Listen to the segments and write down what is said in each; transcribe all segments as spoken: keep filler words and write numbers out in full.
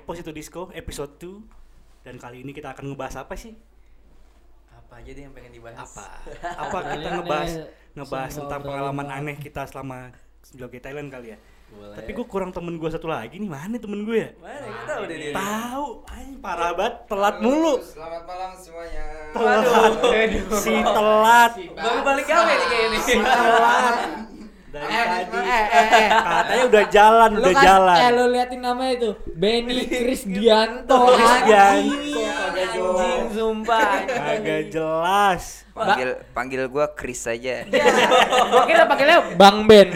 Posito Disco episode dua. Dan kali ini kita akan ngebahas apa sih? Apa aja deh yang pengen dibahas? Apa? Apa kita ngebahas ngebahas tentang pengalaman aneh kita selama joget Thailand kali ya? Boleh. Tapi gue kurang temen gue satu lagi nih, mana temen gue ya? Mana kita tahu deh dia. Tahu, ay parah banget, telat mulu. Selamat malam semuanya. Telat, si telat, Baru balik gawe nih kayak ini. si telat. Dari Eh, tadi eh, eh, eh. katanya udah jalan, Lu udah kan, jalan. eh lu liatin namanya itu Benny Krisdianto. Krisdianto. Anjing sumpah. Agak jelas. Panggil panggil gua Chris saja. Gua kira panggilnya Bang Ben.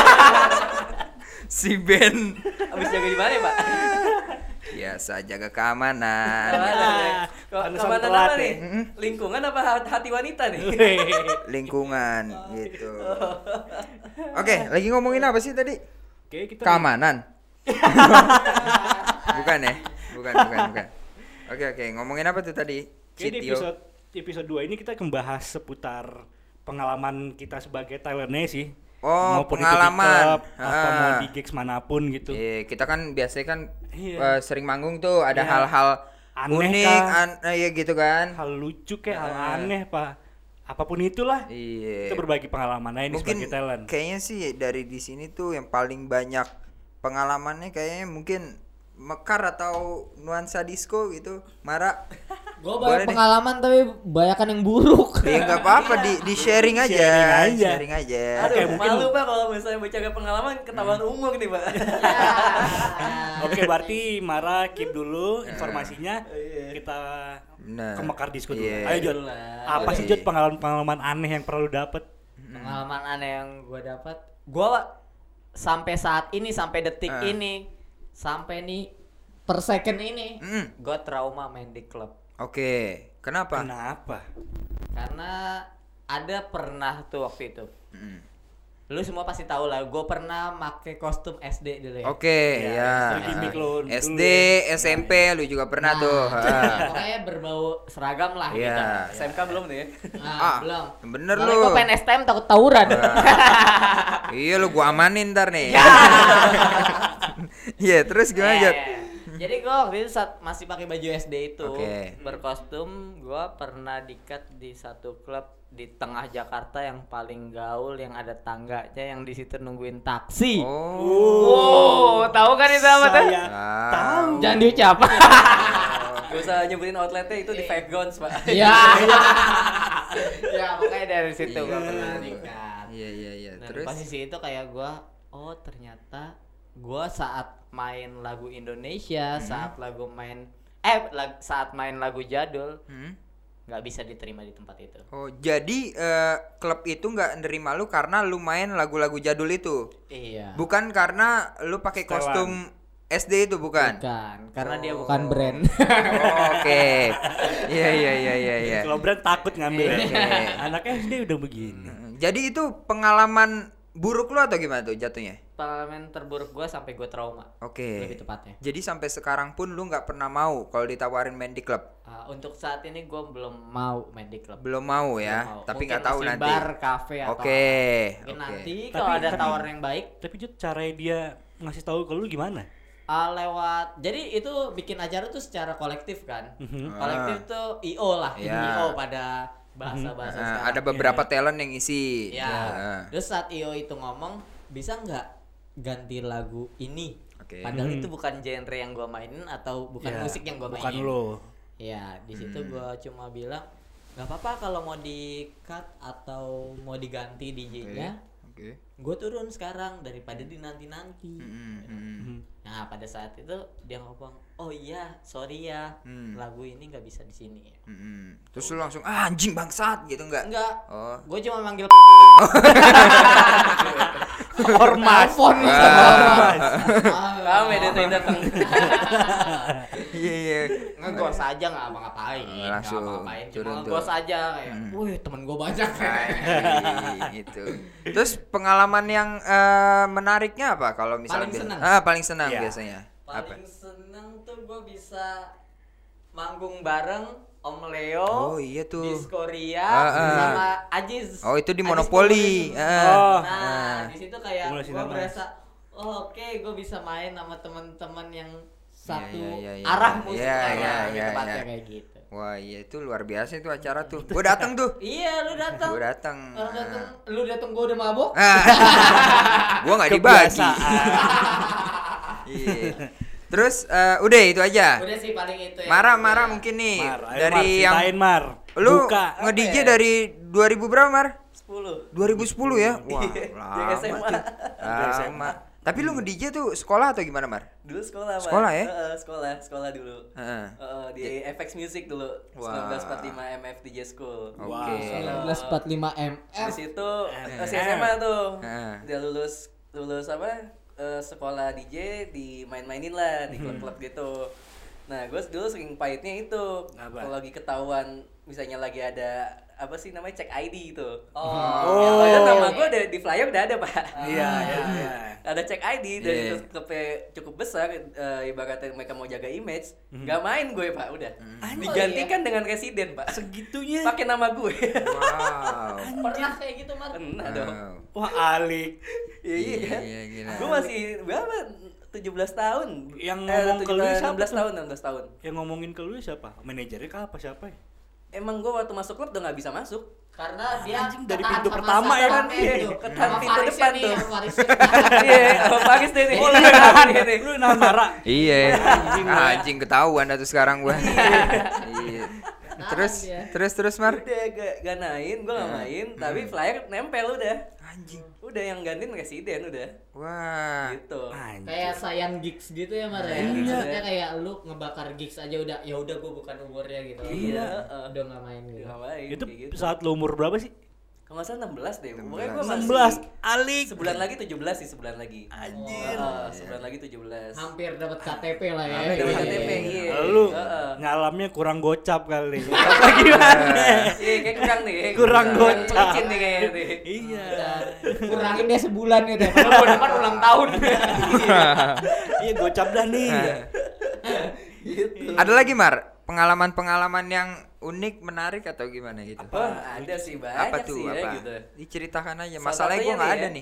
Si Ben. Abis jaga di mana ya, Pak? Biasa jaga keamanan. Kok Pantesan kemana telat nama ya. nih? Lingkungan apa hati wanita nih? Lingkungan gitu. Oke, lagi ngomongin apa sih tadi? Oke, kita Keamanan. Bukan ya? Bukan, bukan, bukan. Oke, oke, ngomongin apa tuh tadi? Oke, di Citio. episode episode dua ini kita membahas seputar pengalaman kita sebagai Thailandese sih. Oh, Maupun pengalaman. Itu di club, atau Ah. mau di gigs manapun gitu. Iya, kita kan biasanya kan Iya. eh, sering manggung tuh ada Iya. hal-hal Aneh unik, kah? an- eh, ya gitu kan. Hal lucu kayak hal Ah. aneh pak, apapun itulah. Iya. Kita berbagi pengalaman aja nih Mungkin sebagai Thailand. kayaknya sih dari di sini tuh yang paling banyak pengalamannya kayaknya mungkin mekar atau nuansa disco gitu. Mara. Gua Boleh banyak deh. pengalaman tapi banyakan yang buruk. Ya nggak apa-apa di di sharing aja. Sharing aja. Sharing aja. Aduh, Oke, mungkin- malu Pak kalau misalnya bercakap pengalaman ketahuan umur nih, Pak. Oke, berarti Mara keep dulu informasinya. Iya. Kita Benar. ke Mekar Disco dulu. Iya. Ayo Jod, Lah. apa sih Oke. Jod pengalaman-pengalaman aneh yang perlu dapet? Pengalaman aneh yang gua dapat, gua sampai saat ini sampai detik Ah. ini sampai nih per second ini Mm, gua trauma main di klub. Oke. Kenapa? Kenapa? Karena ada pernah tuh waktu itu. Mm. Lu semua pasti tahu lah, gue pernah make kostum S D dulu ya. Oke, Ya, ya. itu gimmick lo S dulu D, ya. S M P lu juga pernah tuh. Ah. Pokoknya berbau seragam lah Iya. gitu. S M K belum nih ya? Nah, Ah, belum. bener Soalnya lu. gue pengen S T M takut tawuran. Iya lu gua amanin ntar nih. Iya, terus gimana, Eh, Jod? Jadi gue waktu itu saat masih pakai baju S D itu Oke. berkostum, gue pernah dikat di satu klub di tengah Jakarta yang paling gaul, yang ada tangganya, yang di situ nungguin taksi. Oh. Oh, tahu kan itu apa tuh? Saya Ah. tahu. Jangan diucap. Gak usah nyebutin outletnya itu di Five Guns, Pak. Ya. Ya, pokoknya dari situ gue Iya. pernah dikat. Iya, iya, iya. Dan Terus posisi itu kayak gue, oh ternyata gue saat main lagu Indonesia, Hmm. saat lagu main, eh lag- saat main lagu jadul, Hmm? nggak bisa diterima di tempat itu. Oh, jadi eh, klub itu nggak nerima lu karena lu main lagu-lagu jadul itu. Iya. Bukan karena lu pakai Setelan. kostum S D itu bukan. Bukan, karena dia Oh. bukan brand. Oh, oke. Iya, iya, iya, iya, iya. Kalau brand takut ngambil ya. Oke. Anaknya S D udah begini. Mm, Jadi itu pengalaman buruk lu atau gimana tuh jatuhnya? Pengalaman terburuk gue sampai gue trauma. Oke. Lebih tepatnya. Jadi sampai sekarang pun lu nggak pernah mau kalau ditawarin main di klub. Uh, untuk saat ini gue belum mau main di klub. Belum mau ya, Belum mau. tapi Mungkin nggak tahu masih nanti. Bar, kafe atau Oke. apa. Mungkin Oke. nanti Tapi- kalau ada tapi- tawaran yang baik, Tapi Jod, caranya dia ngasih tahu ke lu gimana? uh, lewat. Jadi itu bikin acara tuh secara kolektif kan. Mhm. Kolektif tuh I O lah, Iya. I O pada bahasa-bahasa Nah, sekarang. ada beberapa talent yang isi. Ya. Nah, Terus saat I O itu ngomong, bisa nggak ganti lagu ini? Oke. Padahal Hmm. itu bukan genre yang gua mainin atau bukan Ya, musik yang gua bukan mainin. lo. Ya, di situ Hmm. gua cuma bilang nggak apa-apa kalau mau di cut atau mau diganti D J-nya. Oke. Gue turun sekarang daripada dinanti-nanti. Mm, mm, mm. Nah, pada saat itu dia ngomong, "Oh iya, sorry ya. Hmm. Lagu ini nggak bisa di sini." Mm, mm. Terus lu langsung ah, anjing bangsat gitu enggak? Enggak. Oh. Gue cuma manggil Ormas. telepon. Ormas. Rame deh tuh yang datang. Iya, iya. Ngegos aja nggak apa-ngapain. Oh, langsung Nggak apa-ngapain. Cuma turun tuh. ngegos aja kayak, Hmm. "Wih, temen gue banyak." Hai, gitu. Terus pengalaman yang eh, menariknya apa kalau misalnya Paling biasa- senang. Ah, paling senang Iya. biasanya. Apa? Paling seneng tuh gue bisa manggung bareng Om Leo, Oh, iya tuh. Diskoria, Ah, ah. sama Ajiz. Oh, itu di Ajiz Monopoli. Mobilation. Ah. Oh. Nah, Ah. di situ kayak Mulai gue sinar berasa, oh, oke, gue bisa main sama teman-teman yang satu Iya, iya, iya, arah iya. musik Iya, lah, iya, lebih iya, tepatnya iya. kayak gitu. Wah iya itu luar biasa itu acara tuh. Gue datang tuh. Iya, lu datang. Gue datang. Orang datang, lu datang gua udah mabok. Gue nggak dibagi. Kebiasaan. Iya. Terus eh, udah itu aja. Udah sih paling itu ya. Marah-marah mungkin nih Mar, ayo, dari Mar, yang ceritain, Mar. lu Buka. nge-D J Apa ya? dari dua ribu berapa Mar? sepuluh. dua ribu sepuluh ya? Wah, Iya, lama dari S M A. tuh. Lama. Tapi lu nge-D J tuh sekolah atau gimana Mar? Dulu sekolah, Pak. Sekolah ya? Heeh, sekolah, sekolah dulu. Heeh. Heeh, di F X Music dulu. Wah. seribu sembilan ratus empat puluh lima M F D J School. Oke. Wow. seribu sembilan ratus empat puluh lima M Di F. situ M. masih S M A tuh. Heeh. Udah lulus lulus apa? eh, sekolah D J dimain-mainin lah di klub-klub gitu. Nah, gue dulu sering pahitnya itu. Apa? Kalau lagi ketahuan misalnya lagi ada apa sih namanya cek I D itu. Oh. Padahal nama gue ada di flyer udah ada, Pak. Iya, iya, iya. Ada cek I D dan Iya. itu klubnya cukup besar, eh, ibaratnya mereka mau jaga image, nggak main gue, Pak, udah. Digantikan dengan residen, Pak. Segitunya. Pakai nama gue. Wow. Pernah kayak gitu, Mar? Pernah dong. Wow. Wah, alik. Iya, iya kan? Iya, gila. Gue masih berapa? tujuh belas tahun. Yang Eh, ngomong ke lu tujuh belas, siapa enam belas tuh? tahun, enam belas tahun. Yang ngomongin ke lu siapa? Manajernya kah apa siapa ya? Emang gue waktu masuk klub udah nggak bisa masuk. Karena dia Anjing, dari ketaat pintu sama pertama ya kan? satpamnya itu. Ketan Sama pintu Farisnya depan nih, tuh. sama Farisnya. Iya, sama Paris deh nih. Oh, lu nahan. Iya, Lu nahan marah. Iya. Anjing, Ah, ya. anjing ketahuan dah tuh sekarang gua. Iya. Terus dia. terus terus Mar. Udah gak, gak main, gue gak main, tapi flyer nempel udah. Anjing. Udah yang gantiin residen udah. Wah. Gitu. Anjing. Kayak sayang gigs gitu ya, Mar ya. Sayang gigs, Maksudnya ya. kayak lu ngebakar gigs aja udah, ya udah gua bukan umurnya gitu. Iya, Udah, heeh. udah nggak main gitu. Gak main. Itu kayak gitu. saat lu umur berapa sih? Kalau nggak salah enam belas deh. Pokoknya gue enam masih enam belas. Alik. sebulan lagi tujuh belas sih, sebulan lagi. Anjir. Heeh, sebulan lagi tujuh belas. Hampir dapat K T P lah ya. Hampir dapat K T P, Iya. iya. Lu Heeh. ngalamnya kurang gocap kali. Apa gimana? Iya, kayak kurang nih. Kurang Kurang gocap. licin nih kayaknya nih. Iya. Kurangin dia sebulan gitu ya. Padahal bulan depan ulang tahun. Iya gocap dah nih. Gitu. Ada lagi Mar? Pengalaman-pengalaman yang unik, menarik atau gimana gitu? Oh, ada sih banyak Apa tuh sih ya apa? gitu. Diceritakan aja. Salah Masalahnya gua satunya nggak nih ada ya. nih.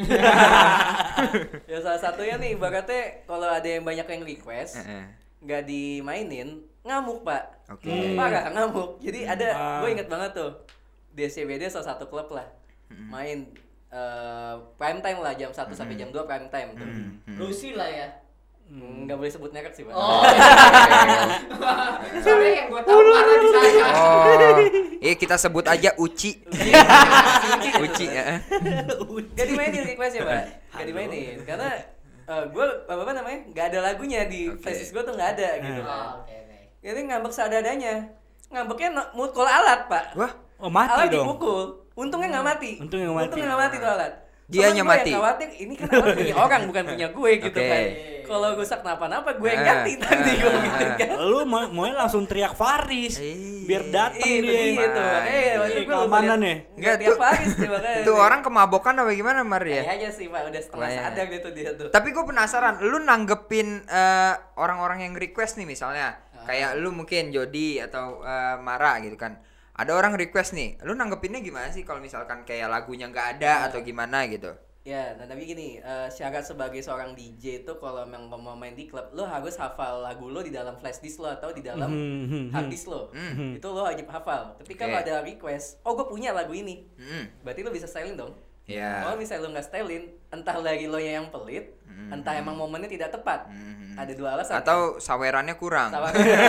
Ya salah satunya nih ibaratnya kalau ada yang banyak yang request Heeh. nggak dimainin ngamuk, Pak. Oke. Parah ngamuk. Jadi ada Ah. gue inget banget tuh D C B D salah satu klub lah main eh, prime time lah jam satu sampai jam dua prime time tuh. Lucy lah ya. Hmm, nggak boleh sebut merek sih, Pak. Oh. Soalnya yang gua tahu marah di sana. Oh, iya kita sebut aja Uci. Uci ya. Gak dimainin request ya, Pak. Gak dimainin karena eh, gue apa apa namanya nggak ada lagunya di Oke. flashdisk gue tuh nggak ada gitu Oh, kan. oke oke. Jadi ngambek seadanya. Ngambeknya no- mukul alat, Pak. Wah, Oh mati Alat dong. dipukul. Untungnya nggak mati. Untungnya nggak mati. Untungnya nggak mati tuh alat. Dianya Cuman gue mati. yang khawatir ini kan alat punya orang bukan punya gue gitu Oke. kan. Kalau rusak kenapa-napa gue yang Ah, ganti tadi gue ah, gitu kan. Lu mau mau langsung teriak Faris Iya. biar dateng Iya, dia. begitu. Eh, waktu Iya, gue keamanan ya. Enggak, tiap tuh- Paris sih makanya. itu orang kemabokan apa gimana Mar ya? Kayaknya sih, Pak, udah setengah Wah, ya. sadar gitu dia tuh. Tapi gue penasaran, lu nanggepin eh, orang-orang yang request nih misalnya, Ah. kayak lu mungkin Jody atau eh, Mara gitu kan. Ada orang request nih, lu nanggepinnya gimana sih kalau misalkan kayak lagunya nggak ada Ah. atau gimana gitu? Ya, nah tapi gini, eh, syarat sebagai seorang D J itu kalau memang mau main di klub, lo harus hafal lagu lo di dalam flash disk lo atau di dalam Mhm, hard disk lo. Mhm. Itu lo wajib hafal. Ketika Oke. lo ada request, oh gue punya lagu ini, Hmm. berarti lo bisa styling dong. Ya. Kalau misalnya lo nggak styling, entah lagi lo yang pelit, Mhm. entah emang momennya tidak tepat. Mhm. Ada dua alasan. Atau sawerannya kurang. Sama.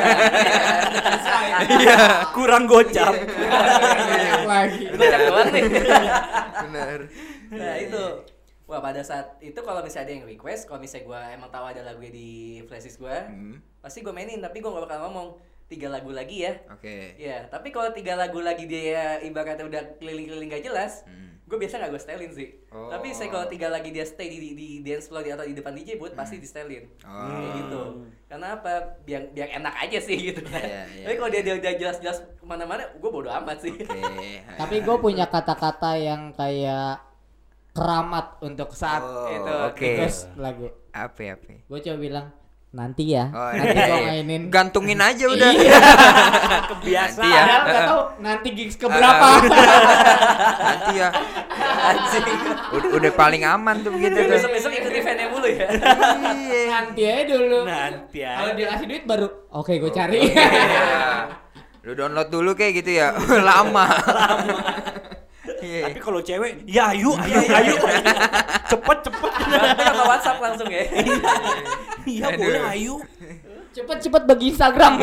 Iya, kurang gocap. Lagi. Gocap doang nih. Bener. Nah itu, wah pada saat itu kalau misalnya ada yang request, kalau misalnya gue emang tahu ada lagu di flashdisk gue, Hmm. pasti gue mainin. Tapi gue gak bakal ngomong tiga lagu lagi ya. Oke. Ya, tapi kalau tiga lagu lagi dia ibaratnya udah keliling-keliling gak jelas, Hmm. gue biasa gak gue stylin sih. Oh. Tapi saya kalau tiga lagi dia stay di, di, di dance floor di, atau di depan D J booth pasti di stylin. Oh. Kayak gitu. Karena apa? Biar biar enak aja sih gitu kan. Iya, iya. Tapi kalau dia dia udah jelas-jelas kemana-mana, gue bodo amat sih. Oke. Tapi gue punya kata-kata yang kayak keramat untuk saat Oh, itu. oke. request lagu. Apa ya, apa? Gue coba bilang nanti ya. Oh, nanti iya, gue iya. mainin. Gantungin aja udah. Iya. Kebiasaan. Nanti ya. Padahal nggak tahu nanti gigs keberapa. Nanti ya. Anjing. Udah, udah paling aman tuh begitu tuh. Besok-besok ikut event pengennya mulu ya. Iya. Nanti aja dulu. Nanti aja. Kalau dia kasih duit baru, oke gue cari. Iya. Lu download dulu kayak gitu ya. Lama. Iya. Tapi kalau cewek, ya ayo, ayo, ayo, cepet, cepet. Berarti ke WhatsApp langsung ya. Iya boleh, ayo. Cepet-cepet bagi Instagram.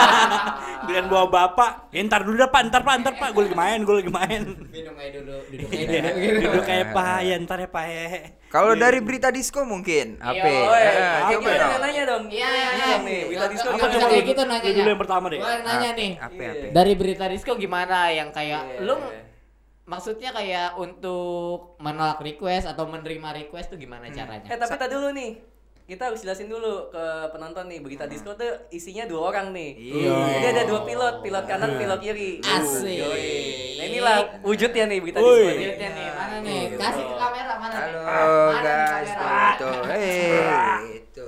Dengan bawa bapak, ya ntar dulu dah pak, ntar pak, ntar pak, gue lagi main, gue lagi main. Minum aja dulu, duduk aja dulu gitu. Duduk kayak pak, ya ntar ya pak. Kalau dari berita disco mungkin apa? Iya, Oh, Eh, iya. coba Gimana dong. yang nanya dong? Iya, iya, Iya iya. nih, Berita Disco Apa gimana? bisa kayak gitu Lu nanyanya? dulu yang pertama deh. Gua yang nanya nih. Apa Iya. apa? Dari berita disco gimana yang kayak Iya. lu maksudnya kayak untuk menolak request atau menerima request tuh gimana caranya? Eh tapi tadi dulu nih, kita harus jelasin dulu ke penonton nih, Berita Disco tuh isinya dua orang nih. Iya. Jadi ada dua pilot, pilot kanan, pilot kiri. Asik. Yoi. Nah inilah wujudnya nih Berita Woi. Disco. Lihatnya nih, mana nih? Kasih ke kamera mana nih? Halo Mana nih guys, kamera? itu, eh, itu,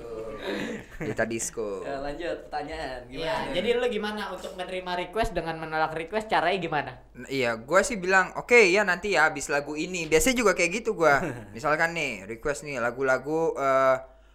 berita disco. Ya, lanjut pertanyaan Iya, gimana? jadi lu gimana untuk menerima request dengan menolak request caranya gimana? N- Iya, gua sih bilang oke ya nanti ya habis lagu ini. Biasanya juga kayak gitu gua. Misalkan nih request nih lagu-lagu eh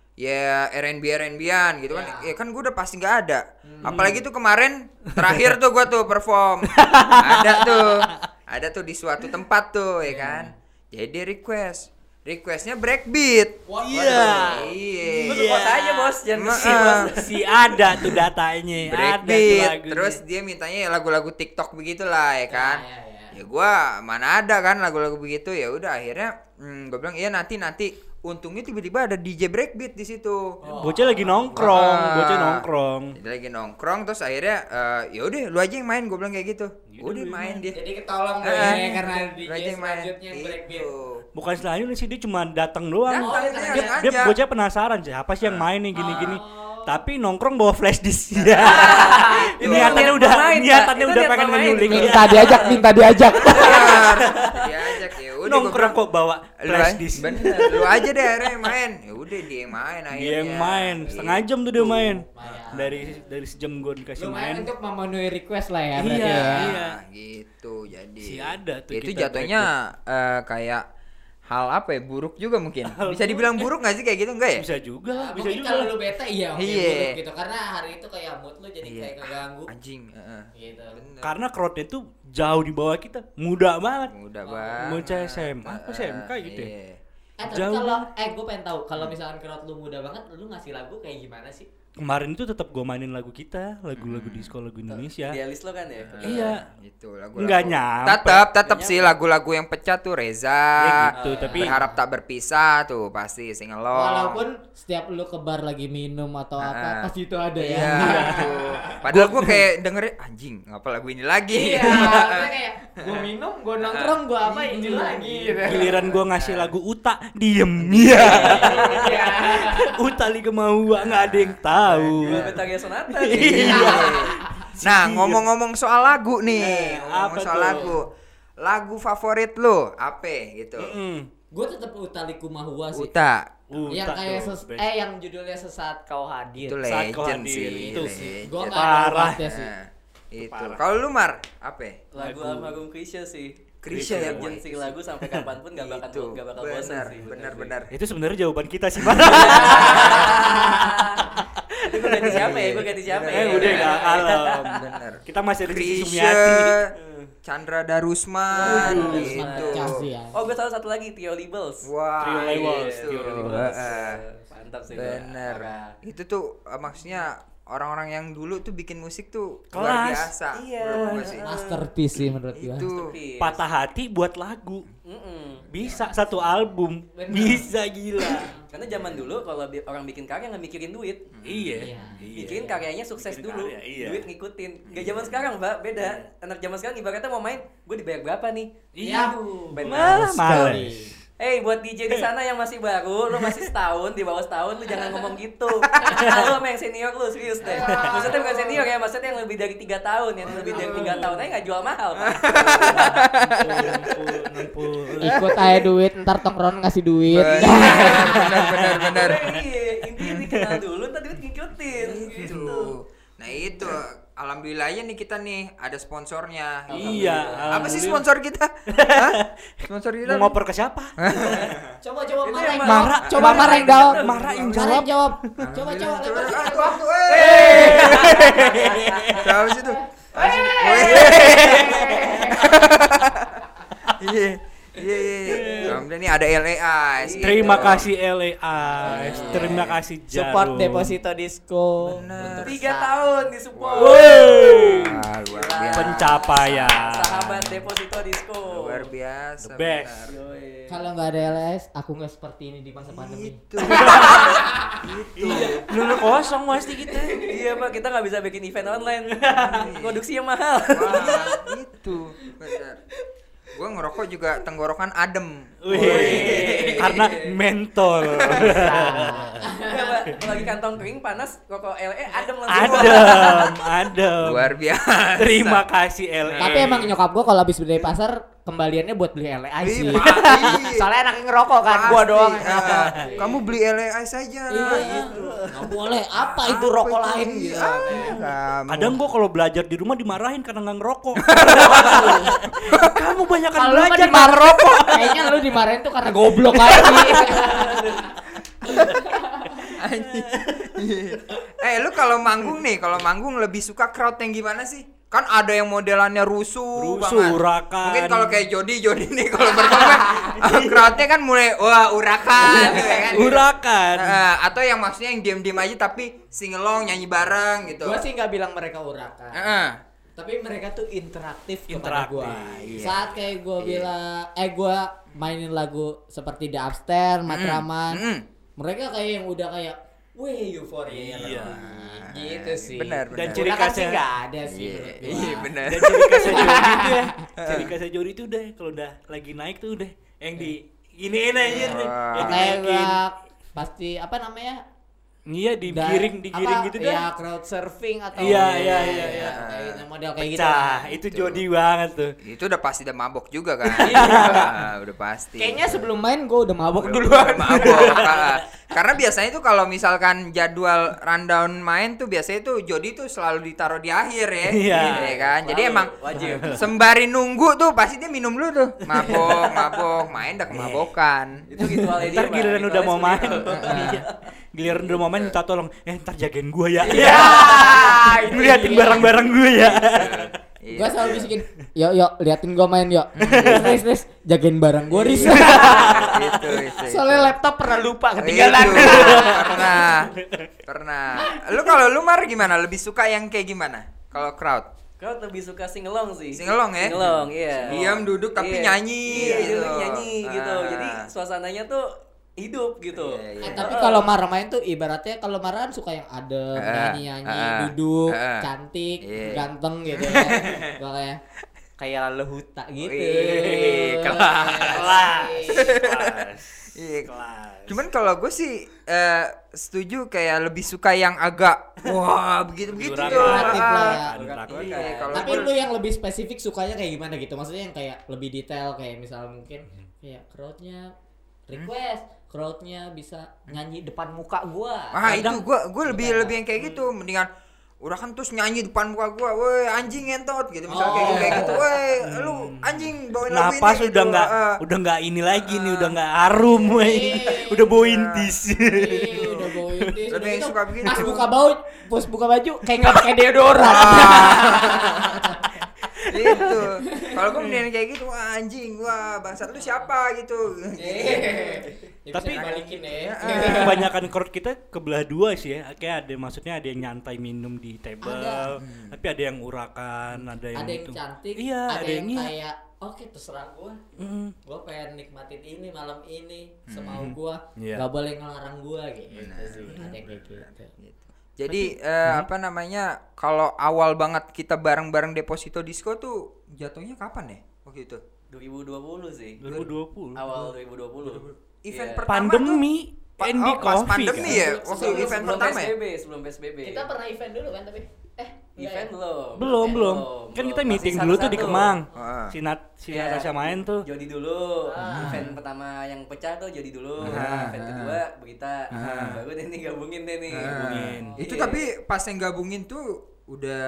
ya R and B R and B-an gitu kan. Ya kan gua udah pasti nggak ada. Apalagi tuh kemarin terakhir tuh gua tuh perform. Ada tuh. Ada tuh di suatu tempat tuh ya kan. Jadi request. Requestnya breakbeat. Iya. Iya. Lu support aja bos, jangan Ma- sih bos. Si ada tuh datanya, ada tuh Breakbeat. lagunya. Terus dia mintanya lagu-lagu TikTok begitulah ya kan. Ya, ya, ya. Ya gua mana ada kan lagu-lagu begitu, ya udah akhirnya hmm, gua bilang iya nanti nanti. Untungnya tiba-tiba ada D J breakbeat di situ. Bocah lagi nongkrong, Ah. bocah nongkrong. Dia lagi nongkrong terus akhirnya eh, ya udah lu aja yang main, gua bilang kayak gitu. Udah main dia. Jadi ketolong Eh, deh karena D lu aja J yang main. selanjutnya yang breakbeat. Itu. Bukan selanjutnya sih, dia cuma datang doang. Datang, Oh, dia dia Dia, datang dia aja. bocah penasaran siapa sih yang main nih gini-gini. Tapi nongkrong bawa flash disk. Ya. Itu. Niatannya Niat udah pemain, niatannya Pak. udah Itu pengen niat pemain. nyulik. Minta diajak, minta diajak. Benar. Diajak ya udah gua Nongkrong bilang, kok bawa lu flash aja- disk. bener, lu aja deh akhirnya yang main. Ya udah dia yang main akhirnya. Dia yang main, setengah jam tuh dia main. Lumayan. Dari dari sejam gue dikasih Lumayan main. untuk memenuhi request lah ya. Iya, berarti ya. iya. Gitu jadi. Si ada tuh Ya, itu kita jatuhnya eh, kayak hal apa ya, buruk juga mungkin. Bisa dibilang buruk gak sih kayak gitu, enggak ya? Bisa juga, Nah, bisa mungkin juga. kalau lu bete iya oke Iya. buruk gitu karena hari itu kayak mood lu jadi Iya. kayak keganggu Anjing, heeh. gitu. Bener. Karena crowdnya tuh jauh di bawah kita, muda banget. Mudah Oh, banget. bocah S M A, apa S M K gitu ya? Iya. Eh tapi Jauh kalau eh gue pengen tahu kalau misalkan crowd lu muda banget lu ngasih lagu kayak gimana sih? Kemarin itu tetap gue mainin lagu kita, lagu-lagu disco, lagu Indonesia. Idealis lo kan ya. Iya. Itu lagu. Nggak nyampe. Tetap tetap sih lagu-lagu yang pecah tuh Reza. Ya gitu, tapi Berharap tak berpisah tuh pasti singelong. Walaupun setiap lu ke bar lagi minum atau apa Ah. pasti itu ada ya. Iya. tuh. Padahal gua kayak dengerin anjing, ngapa lagu ini lagi? Iya, maksudnya kayak gue minum, gue nongkrong, gue apa ini lagi gitu. giliran gue ngasih lagu Uta, diem. Iya. Iya. Uta li kemauan nggak ada yang tahu. Gua Betagya Sonata. Iya. Nah, ngomong-ngomong soal lagu nih, Eh, ngomong apa soal tuh? lagu. Lagu favorit lu apa gitu? Mm. Gue tetap Utaliku Mahua sih. Uta. yang Uta kayak tuh, ses- best. eh yang judulnya sesaat kau hadir. Itu Saat kau legend hadir, sih. itu legend. Gue nggak Parah. ada sih. Nah, itu. Parah. Kalau lu Mar, apa? Lagu almarhum Krisya sih. Krisya ya, Legend sih lagu sampai kapanpun gak bakal Itu. gak bakal Bener, bosan sih. bener, bener. Itu sebenarnya jawaban kita sih, Pak. Itu gue ganti siapa ya? Gue ganti siapa ya? Eh, udah nggak kalem. Bener. Kita masih ada Cici Krisya, Sumiati. Chandra Darusman, Waduh, gitu. pecah sih ya. Oh, gue tahu satu lagi, Tio Labels. Wah, Trio Labels, itu. Trio Labels. Heeh. Mantap sih. gua. Bener. Parah. Itu tuh eh, maksudnya orang-orang yang dulu tuh bikin musik tuh Kelas. luar biasa. Iya. Menurut gua sih. Masterpiece sih menurut gue. Itu. Masterpiece. Patah hati buat lagu. Mm-mm. Bisa satu album. Bener. Bisa gila. Karena zaman dulu kalau bi- orang bikin karya nggak mikirin duit, Iya. Iya. bikin karyanya sukses Bikin dulu, karya, iya. duit ngikutin. Gak zaman sekarang, Mbak, beda. Anak zaman sekarang ibaratnya mau main, gue dibayar berapa nih? Iya. Benar. Malah males. Hey, buat D J di sana yang masih baru, lu masih setahun, di bawah setahun, lu jangan ngomong gitu. Lu sama yang senior lu, serius deh. Maksudnya bukan senior ya, maksudnya yang lebih dari tiga tahun, yang lebih dari tiga tahun aja nggak jual mahal, Pak. Ikut aja duit, ntar tongkrongan ngasih duit. Bener, bener, bener. Iya, intinya dikenal dulu, ntar duit ngikutin. Gitu. Itu. Nah itu alhamdulillahnya nih kita nih ada sponsornya. Iya. Apa sih alhamdulillah. sponsor kita? Hah? Sponsor kita? Mau ngoper ke siapa? Coba coba Itu Mara yang yang Mara- jawab. Coba Mara- Mara yang jawab. Mara yang Mara jawab. yang jawab. Coba coba Coba. lepas. Ah, waktu. Eh. Tahu situ. Iya. Iya, iya, iya. Kemudian nih ada L A S. Terima gitu. kasih L A S, terima kasih Jarum. Support Deposito Disco. Bener. Tiga tahun di support. Woi. Ah, luar Gila. biasa. Pencapaian. Sahabat Deposito Disco. Luar biasa. The best. benar. Yoi. Kalau nggak ada L S, aku nggak seperti ini di masa pandemi. Itu. Iya, bener kosong pasti kita. Iya pak, kita nggak bisa bikin event online. Produksinya mahal. Wah, itu. Benar. Gua ngerokok juga tenggorokan adem. Wih, karena mentol. Iya pak, kalau lagi kantong kering panas, rokok L E adem langsung. Adem, adem. Luar biasa. Terima kasih L A. Tapi emang nyokap gua kalau habis beli dari pasar kembaliannya buat beli L A sih. Ih, pasti. Soalnya anaknya ngerokok kan, gua Pasti. doang. Ah, kamu beli L A saja. Iya, gitu. nggak boleh. Apa itu Apa rokok itu? lain gitu? Ah, kamu. Kadang gua kalau belajar di rumah dimarahin karena nggak ngerokok. Kamu banyak kan Kalau lu mah belajar dimarahin- nggak ngerokok. Kayaknya lu dimarahin tuh karena goblok aja. Anjing. Eh, lu kalau manggung nih, kalau manggung lebih suka crowd yang gimana sih? Kan ada yang modelannya rusuh, Rusuh, banget. urakan. Mungkin kalau kayak Jody, Jody nih kalau berkembang crowdnya kan mulai wah urakan, gitu ya kan? Urakan. Eh, atau yang maksudnya yang diam-diam aja tapi singelong nyanyi bareng gitu. Gua sih nggak bilang mereka urakan. Heeh. Tapi mereka tuh interaktif kepada Interaktif, gua. iya. Saat kayak gua Iya. bilang, eh gua mainin lagu seperti The Upstairs, Matraman. Mm-mm. Mereka kayak yang udah kayak, weh euforia. Iya. Gitu sih. Benar, Dan benar. ciri Urakan khasnya- sih nggak ada sih. Iya, menurut gua. iya benar. Dan ciri khasnya Jody itu ya, ciri khasnya Jody itu udah kalau udah lagi naik tuh udah yang di iniin aja tuh, Wah. yang Kayak dinaikin. gua pasti apa namanya? Iya, digiring, digiring apa, gitu ya, dah. crowd surfing atau Iya, iya, iya, iya, iya. kayak model kayak gitu. Pecah, lah. itu Jody banget tuh. Itu udah pasti udah mabok juga kan? Ah, udah pasti. Kayaknya sebelum main gua udah mabok Udah- duluan. udah mabok. Ah, karena biasanya tuh kalau misalkan jadwal rundown main tuh biasanya tuh Jody tuh selalu ditaruh di akhir ya. Iya. Iya kan? Jadi Selalu, emang wajib. sembari nunggu tuh pasti dia minum dulu tuh. Mabok, mabok, main dah kemabokan. Itu ritualnya dia. Ntar Pak. giliran udah Ritualnya mau main, seperti itu. iya. Giliran udah mau main minta tolong, eh ntar jagain gua ya. Iya. Liatin barang-barang gue ya. Iya. Gua selalu bisikin, "Yuk, yuk, liatin gua main, yuk." Riz, Riz, jagain barang gua, Riz. itu, itu, itu. Soalnya laptop pernah lupa Itu, ketinggalan. pernah. Pernah. Lu kalau lu Mar gimana? Lebih suka yang kayak gimana? Kalau crowd? Kau lebih suka singelong sih. Singelong ya? Singelong, iya. Diam, duduk, tapi Iya. nyanyi Iya, gitu. duduk nyanyi gitu. Ah. Jadi suasananya tuh hidup gitu. Iya, iya. Eh, tapi kalau Mara main tuh ibaratnya kalau Mara kan suka yang adem, Eh, nyanyi-nyanyi, eh, duduk, eh, cantik, iya. ganteng gitu ya. Makanya kayak lehuta gitu. Wih, kelas. Kelas. Kelas. Iya. Kelas. Cuman kalau gue sih eh, setuju kayak lebih suka yang agak wah begitu-begitu Urakan. tuh. Kreatif lah ya. Ah, Urakan. iya, kalau Tapi gua- lu yang lebih spesifik sukanya kayak gimana gitu? Maksudnya yang kayak lebih detail kayak misalnya mungkin kayak crowdnya request, crowdnya bisa nyanyi depan muka gua. ah itu kadang- gue gue lebih lebih yang kayak gitu mendingan udah kan terus nyanyi depan muka gua, woi anjing ngentot gitu misalnya kayak gitu, kayak gitu, woi lu anjing bawain lagu ini. Napas gitu. udah nggak Ah, udah nggak ini lagi nih, udah nggak harum, wey. Udah bau intis. Iya, udah bawa intis. Ada yang Itu suka begitu. Pas buka bau, pas buka baju kayak nggak pakai deodoran. Itu kalau gue mendingan kayak gitu, wah anjing, wah bangsat lu siapa gitu. Ya, Tapi- bisa dibalikin ya. Kebanyakan crowd kita kebelah dua sih ya. Kayak ada maksudnya ada yang nyantai minum di table, Ada. tapi ada yang urakan, ada yang Ada yang itu. cantik, Iya, ada, ada yang yang iya. kayak oke terserah gua. Mm. Gua pengen nikmatin ini malam ini semau gua. Iya. Gak boleh ngelarang gua gitu sih. Ada yang kayak gitu. Jadi eh, apa namanya kalau awal banget kita bareng-bareng Deposito Disco tuh jatuhnya kapan ya waktu itu? dua ribu dua puluh sih. dua ribu dua puluh. Awal dua ribu dua puluh. Event Iya. pertama Pandemi, tuh, N D oh, pas Coffee pandemi kan? ya Sebelum- waktu sebelum- event sebelum pertama ya. P S B B, sebelum P S B B. Kita pernah event dulu kan tapi eh event belum. Belum, belum. belum. Kan kita Belum. meeting Masih dulu tuh di satu-satu. Kemang. Ah. Si Nat, si Iya. Natasha main tuh. Jody dulu. Ah. Event pertama yang pecah tuh Jody dulu. Ah. Event kedua Berita. Ah. Baru deh nih gabungin deh nih. Ah. Gabungin. Itu Iya. tapi pas yang gabungin tuh udah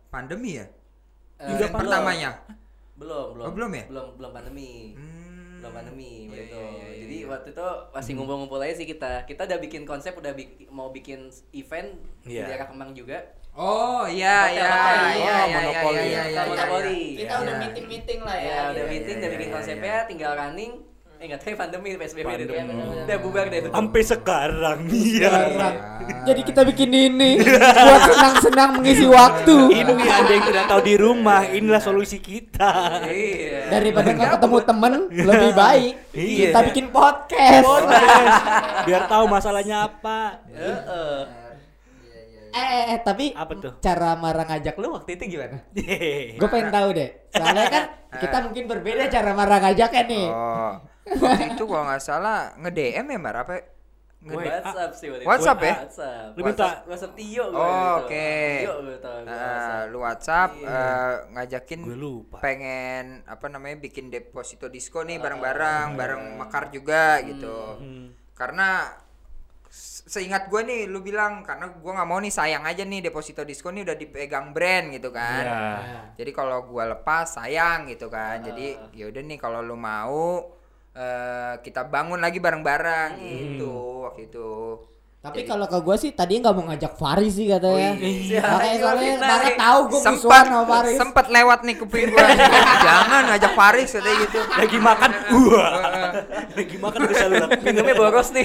pandemi ya? Eh, Event belum. pertamanya. Belum, belum. Oh, belum ya? Belum, belum pandemi. Hmm. Belum pandemi Iya, gitu. iya, iya, iya. Jadi waktu itu masih ngumpul-ngumpul aja sih kita. Kita udah bikin konsep, udah bik- mau bikin event Iya. di daerah Kemang juga. Oh iya Hotel, iya hotel. iya Oh, iya iya monopoli. iya iya iya. Monopoli. Kita Iya. udah meeting-meeting lah ya. Ya, udah iya, meeting, iya, udah bikin iya, konsepnya, tinggal running. Eh enggak tahu pandemi P S B B deh. Pandemi. Udah bubar deh itu. Sampai sekarang. Iya. Sekarang. Jadi kita bikin ini buat senang-senang mengisi waktu. Ini ada yang tidak tahu di rumah, inilah solusi kita. Iya. Daripada nggak ketemu temen, lebih baik Iya. kita bikin podcast. Podcast. Biar tahu masalahnya apa. Heeh. Eh, eh, eh, tapi Apa tuh? cara marah ngajak lu waktu itu gimana? Hehehe. Gue pengen tahu deh. Soalnya kan kita mungkin berbeda cara marah ngajaknya nih. Oh. Waktu itu kalau nggak salah nge-D M ya Mar apa? Nge- Woi, WhatsApp sih waktu itu. WhatsApp ya? WhatsApp. Lu minta- WhatsApp, WhatsApp Tio gua Oh, gitu. oke. Tio gua tau gua Nah, WhatsApp. lu WhatsApp Iya. eh, ngajakin Gue lupa. pengen apa namanya bikin deposito disco nih bareng-bareng, bareng Mekar juga gitu. Hmm. Karena se- seingat gue nih lu bilang karena gue nggak mau nih sayang aja nih deposito disco nih udah dipegang brand gitu kan. Iya. Jadi kalau gue lepas sayang gitu kan. Jadi ya udah nih kalau lu mau eh, kita bangun lagi bareng-bareng gitu waktu itu. Tapi kalau ke gue sih tadi nggak mau ngajak Faris sih katanya. Iya. Makanya Iya, soalnya fitnah Mara nih. tahu gue Sempat musuhan sama Faris. sempat lewat nih kuping gue. Jangan ngajak Faris katanya gitu. Lagi makan, wah. Lagi makan udah selalu Minumnya boros nih.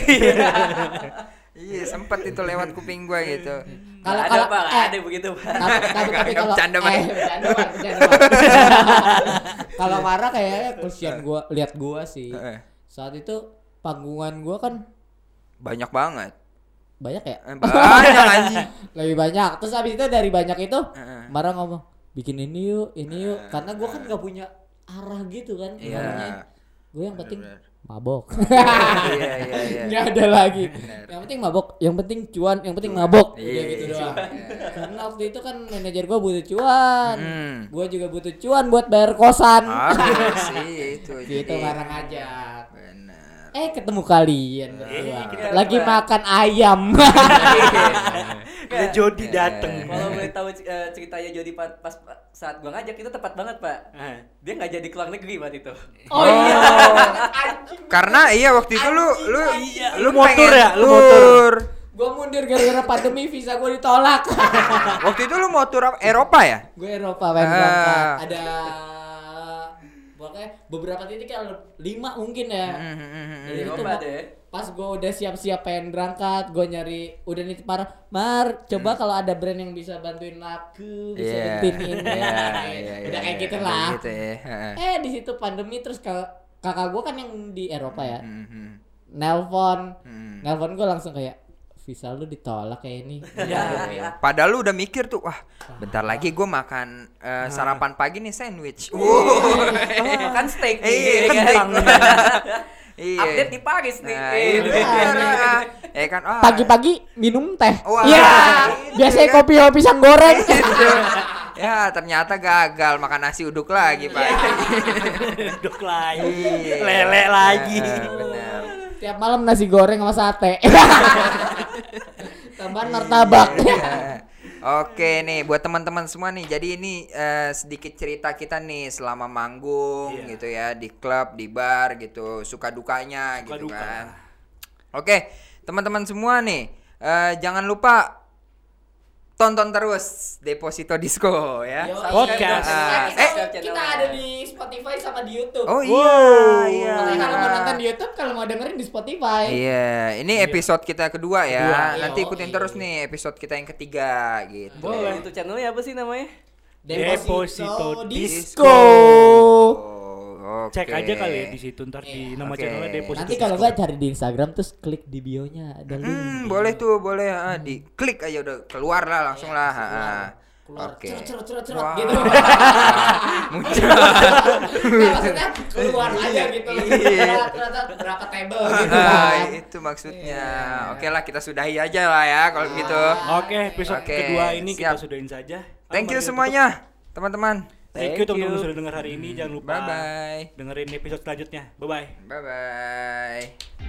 Iya sempat itu lewat kuping gue gitu. Kalau Nggak ada kalau Pak, nggak eh, ada begitu Pak. tapi tapi, tapi kalau Bercanda, Bang. eh bercanda Bang, bercanda, Bang. Kalau Mara kayaknya kesian gua lihat gua sih. Heeh. Saat itu panggungan gua kan Banyak banget. banyak ya? Eh, Banyak anjing. Lebih banyak. Terus habis itu dari banyak itu Heeh. Mara ngomong, "Bikin ini yuk, ini yuk." Karena gua kan gak punya arah gitu kan. Iya. Arahnya. Gue yang penting Bener-bener. mabok. Iya iya iya. Nggak ada lagi. Bener. Yang penting mabok, yang penting cuan, yang penting mabok. Iya, Udah gitu iya, doang. iya. Karena waktu itu kan manajer gua butuh cuan. Hmm. Gua juga butuh cuan buat bayar kosan. Ada sih itu. Gitu jadi. barang ngajak. Bener. Eh ketemu kalian berdua. kita Lagi berdua. makan ayam. Ada Jody dateng. Kalau boleh tahu eh, ceritanya Jody pas, pas saat gua ngajak itu tepat banget Pak. Eh. Dia nggak jadi ke luar negeri waktu itu. Oh iya. Karena iya waktu itu lu lu Iya, lu lu motor pengen ya? Lu tour. motor. Gua mundur gara-gara pandemi, visa gua ditolak. Waktu itu lu mau tur apa? Eropa ya? Gue Eropa pengen Ah. berangkat. Ada pokoknya beberapa titik ya lima mungkin ya. Hmm, Jadi itu Eropa ma- deh. pas gue udah siap-siap pengen berangkat, gue nyari udah nih parah. Mar, coba kalau ada brand yang bisa bantuin laku, bisa Iya. bantuin ini, Iya, Nah, iya, udah iya, kayak iya, gitu kayak lah. gitu ya. Heeh. Eh di situ pandemi terus kak- kakak gue kan yang di Eropa ya, Hmm, hmm, nelpon, hmm. nelpon gue langsung kayak visa lu ditolak kayak ini. Ya, padahal lu udah mikir tuh, wah, bentar lagi gue makan eh, sarapan pagi nih sandwich. Kan steak nih. Iya, ya kan? kentang. Iya. Update di Paris nih. Nah, Eh, itu bener. Eh kan, wah. Pagi-pagi minum teh. Wah, Iya. itu Biasanya kan. kopi sama pisang goreng. Gitu. Ya ternyata gagal makan nasi uduk lagi pak. Duduk lagi. Iya. Lele lagi. Nah, bener. Tiap malam nasi goreng sama sate. Tambahan martabak. Iya. Oke nih buat teman-teman semua nih. Jadi ini eh, sedikit cerita kita nih selama manggung Iya. gitu ya di klub, di bar gitu, suka dukanya Suka gitu duka. kan. Oke, teman-teman semua nih eh, jangan lupa tonton terus Deposito Disco ya. Yo, Podcast. Kita, Eh, kita, kita ada di Spotify sama di YouTube. Oh iya, Wow. iya. Makanya kalau mau nonton di YouTube, kalau mau dengerin di Spotify. Iya, ini episode kita kedua ya. Kedua. Nanti Iya, ikutin oke. terus nih episode kita yang ketiga gitu. Boleh. Itu channelnya apa sih namanya? Deposito Disco. Oh, Cek oke. aja kali ya di situ ntar di nama Oke. channelnya Deposito. Nanti kalau nggak cari di Instagram terus klik di bio-nya ada link. Hmm, boleh tuh, boleh. Ah, di klik aja udah keluar lah langsung lah. keluar. Ah. Keluar Oke. cerot cerot cerot cerot Wah. gitu. Muncul. Nggak, maksudnya keluar aja gitu. Iya. Cerot, cerot, cerot, berapa table gitu Ah, kan. itu maksudnya. Iya. Oke lah, kita sudahi aja lah ya kalau gitu. Oke, episode Oke, kedua ini kita siap. sudahin saja. Thank you Mari kita semuanya, teman-teman. tutup. Thank you Thank teman-teman you. sudah dengar hari ini. Jangan lupa Bye bye. dengerin episode selanjutnya. Bye bye. Bye bye.